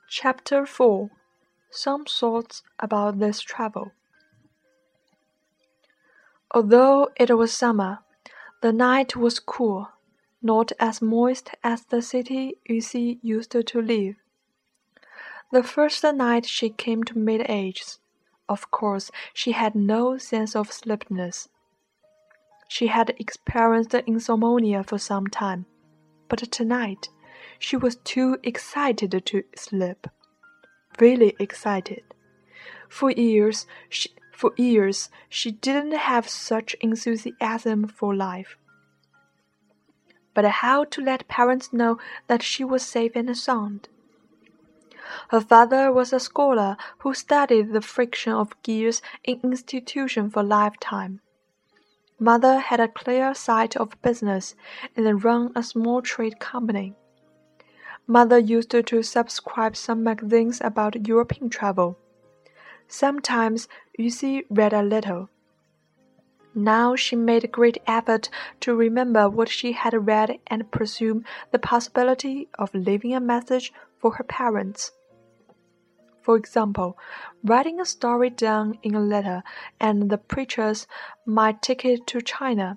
Chapter 4 Some Thoughts About This Travel. Although it was summer, the night was cool, not as moist as the city Yuxi used to live. The first night she came to mid-age, of course she had no sense of sleepiness. She had experienced insomnia for some time, but tonight she was too excited to sleep. Really excited. For years she didn't have such enthusiasm for life. But how to let parents know that she was safe and sound? Her father was a scholar who studied the friction of gears in institution for lifetime. Mother had a clear sight of business and ran a small trade company. Mother used to subscribe some magazines about European travel. Sometimes Yuxi read a little. Now she made a great effort to remember what she had read and pursue the possibility of leaving a message for her parents. For example, writing a story down in a letter and the preachers might take it to China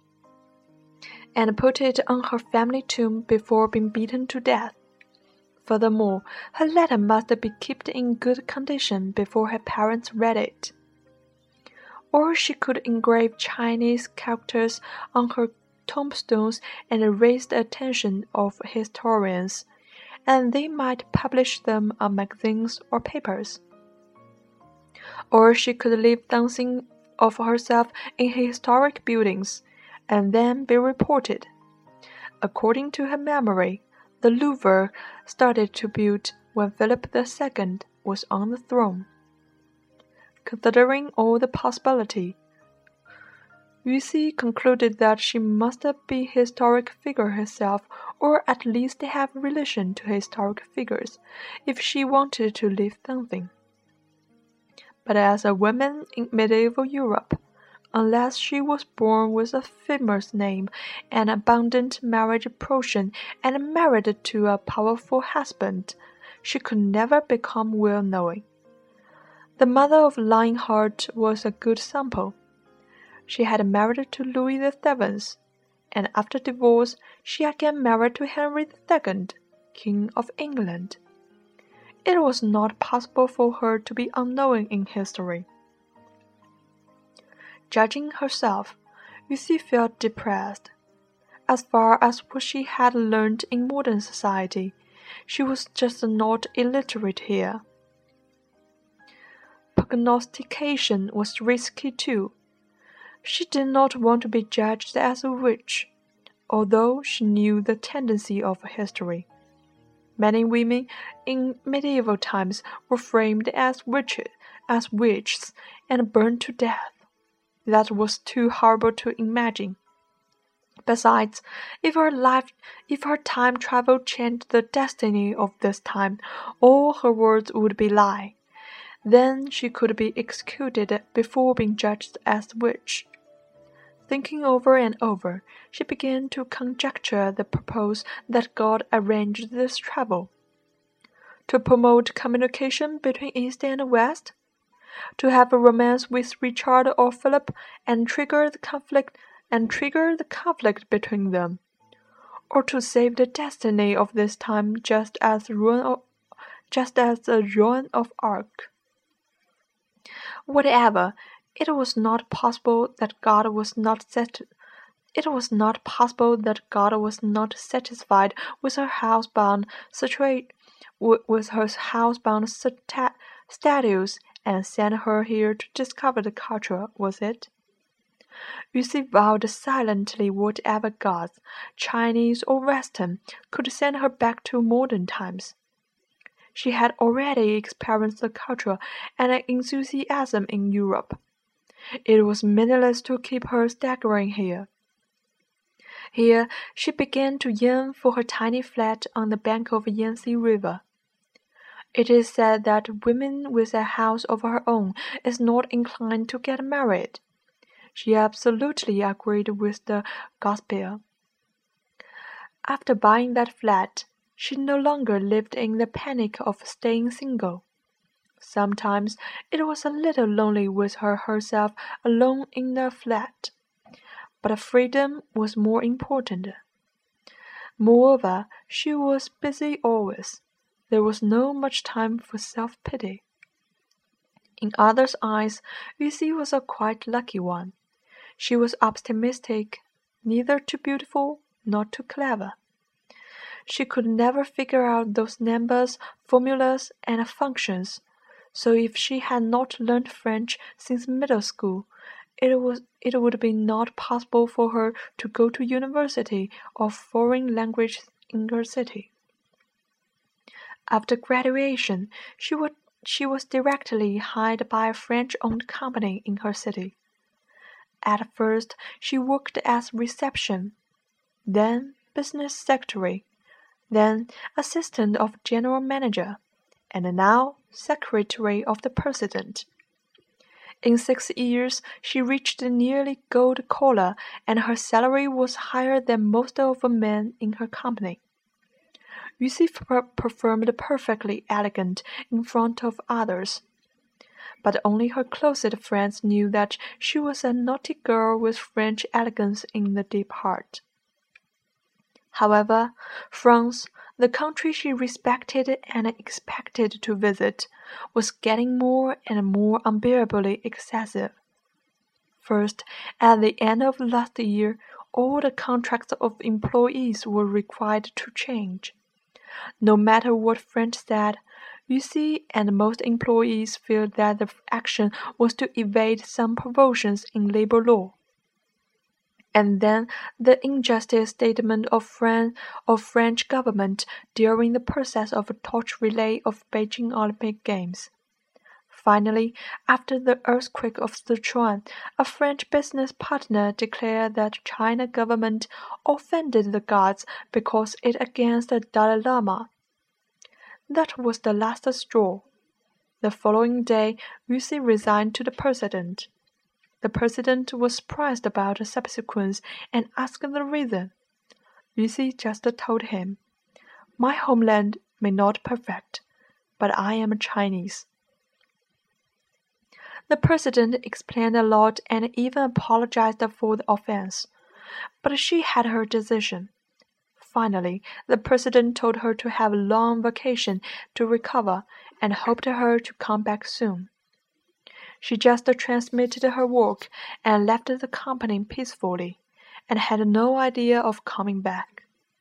and put it on her family tomb before being beaten to death. Furthermore, her letter must be kept in good condition before her parents read it. Or she could engrave Chinese characters on her tombstones and raise the attention of historians, and they might publish them on magazines or papers. Or she could leave something of herself in historic buildings, and then be reported. According to her memory, the Louvre started to build when Philip II was on the throne. Considering all the possibility, Yuxi concluded that she must be a historic figure herself, or at least have relation to historic figures, if she wanted to leave something. But as a woman in medieval Europe, unless she was born with a famous name and abundant marriage portion and married to a powerful husband, she could never become well-known. The mother of Lionheart was a good sample. She had married to Louis VII, and after divorce she again married to Henry II, King of England. It was not possible for her to be unknown in history. Judging herself, Yuxi felt depressed. As far as what she had learned in modern society, she was just not illiterate here. Prognostication was risky too. She did not want to be judged as a witch, although she knew the tendency of history. Many women in medieval times were framed as witches, and burned to death. That was too horrible to imagine. Besides, if her time travel changed the destiny of this time, all her words would be lie. Then she could be executed before being judged as a witch. Thinking over and over, she began to conjecture the purpose that God arranged this travel. To promote communication between East and West? To have a romance with Richard or Philip and trigger the conflict between them, or to save the destiny of this time just as the ruin of Ark. Whatever, it was not possible that God was not satisfied with her housebound statues and sent her here to discover the culture, was it? Yuxi vowed silently whatever gods, Chinese or Western, could send her back to modern times. She had already experienced the culture and enthusiasm in Europe. It was meaningless to keep her staggering here. Here she began to yearn for her tiny flat on the bank of Yangtze River. It is said that women with a house of her own is not inclined to get married. She absolutely agreed with the gospel. After buying that flat, She no longer lived in the panic of staying single. Sometimes it was a little lonely with herself alone in the flat, but freedom was more important. Moreover, she was busy always. There was not much time for self-pity. In others' eyes, Yuxi was a quite lucky one. She was optimistic, neither too beautiful nor too clever. She could never figure out those numbers, formulas, and functions, so if she had not learned French since middle school, it would be not possible for her to go to university or foreign language in her city. After graduation, she was directly hired by a French-owned company in her city. At first, she worked as reception, then business secretary, then assistant of general manager, and now secretary of the president. In 6 years, she reached nearly gold collar, and her salary was higher than most of the men in her company. Yuxi performed perfectly elegant in front of others, but only her closest friends knew that she was a naughty girl with French elegance in the deep heart. However, France, the country she respected and expected to visit, was getting more and more unbearably excessive. First, at the end of last year, all the contracts of employees were required to change. No matter what French said, Yuxi and most employees felt that the action was to evade some provisions in labor law. And then the injustice statement of French government during the process of a torch relay of Beijing Olympic Games. Finally, after the earthquake of Sichuan, a French business partner declared that China government offended the gods because it against the Dalai Lama. That was the last straw. The following day, Yuxi resigned to the president. The president was surprised about the subsequence and asked the reason. Yuxi just told him, "My homeland may not perfect, but I am Chinese." The president explained a lot and even apologized for the offense, but she had her decision. Finally, the president told her to have a long vacation to recover and hoped her to come back soon. She just transmitted her work and left the company peacefully, and had no idea of coming back.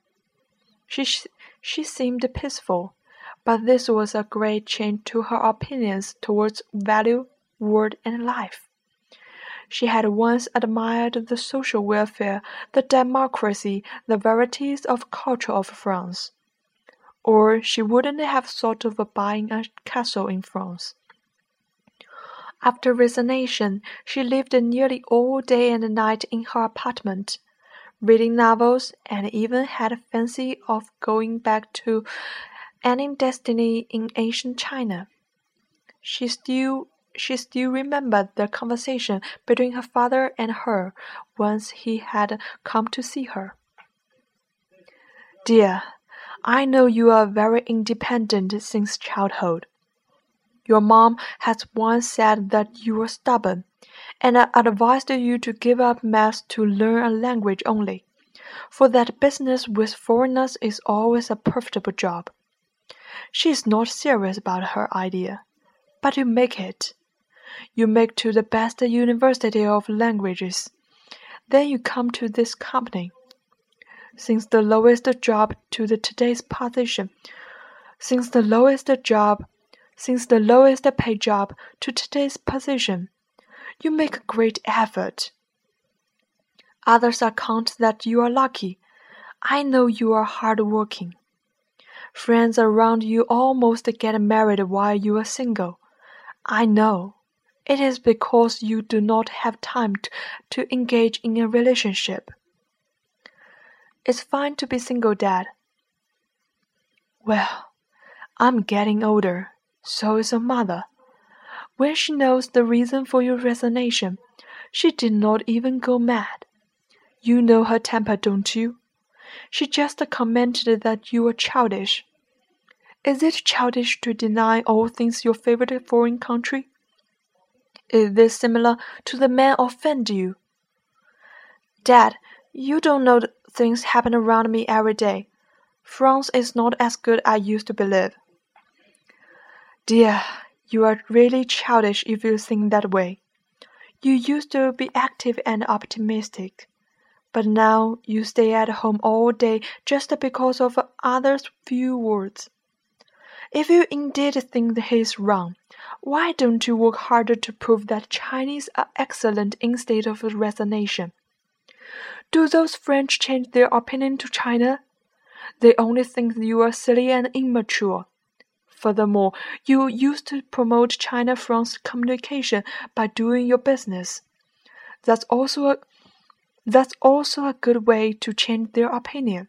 She seemed peaceful, but this was a great change to her opinions towards value, world, and life. She had once admired the social welfare, the democracy, the varieties of culture of France. Or she wouldn't have thought of buying a castle in France. After resignation, she lived nearly all day and night in her apartment, reading novels, and even had a fancy of going back to any destiny in ancient China. She still remembered the conversation between her father and her once he had come to see her. "Dear, I know you are very independent since childhood. Your mom has once said that you were stubborn, and advised you to give up math to learn a language only, for that business with foreigners is always a profitable job. She is not serious about her idea, but you make it. You make to the best university of languages. Then you come to this company. Since the lowest job to today's position, since the lowest paid job to today's position, you make a great effort. Others account that you are lucky. I know you are hard-working. Friends around you almost get married while you are single. I know. It is because you do not have time to engage in a relationship. It's fine to be single, Dad." "Well, I'm getting older. So is your mother. When she knows the reason for your resignation, she did not even go mad. You know her temper, don't you? She just commented that you were childish. Is it childish to deny all things your favorite foreign country? Is this similar to the man offend you? Dad, you don't know things happen around me every day. France is not as good as I used to believe. Dear, you are really childish if you think that way. You used to be active and optimistic, but now you stay at home all day just because of others' few words. If you indeed think he is wrong, why don't you work harder to prove that Chinese are excellent in state of resignation? Do those French change their opinion to China? They only think you are silly and immature. Furthermore, you used to promote China-France communication by doing your business. That's also a good way to change their opinion.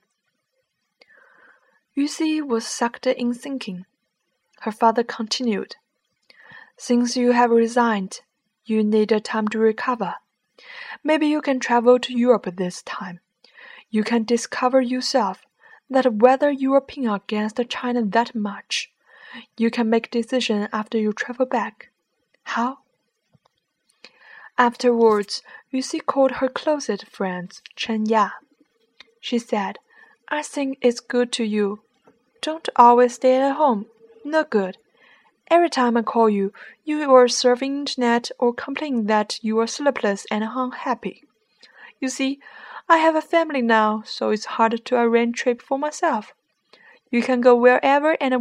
Yuxi was sucked in thinking. Her father continued. Since you have resigned, you need time to recover. Maybe you can travel to Europe this time. You can discover yourself that whether you are pinned against China that much, you can make decision after you travel back. How? Afterwards, Yuxi called her closest friend, Chen Ya. She said, I think it's good to you. Don't always stay at home. No good. Every time I call you, you are surfing internet or complain that you are sleepless and unhappy. You see, I have a family now, so it's hard to arrange trip for myself. You can go whenever and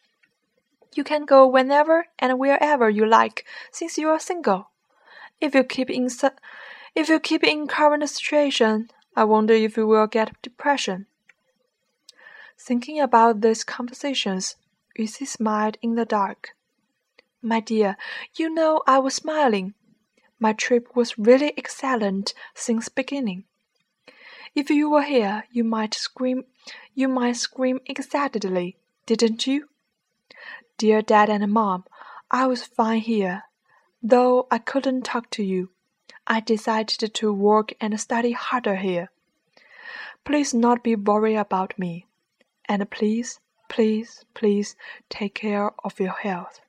wherever you like, since you are single. If you keep in current situation, I wonder if you will get depression. Thinking about these conversations, Yuxi smiled in the dark. My dear, you know I was smiling. My trip was really excellent since beginning. If you were here, you might scream excitedly, didn't you? Dear Dad and Mom, I was fine here. Though I couldn't talk to you, I decided to work and study harder here. Please not be worried about me. And please, please, please take care of your health.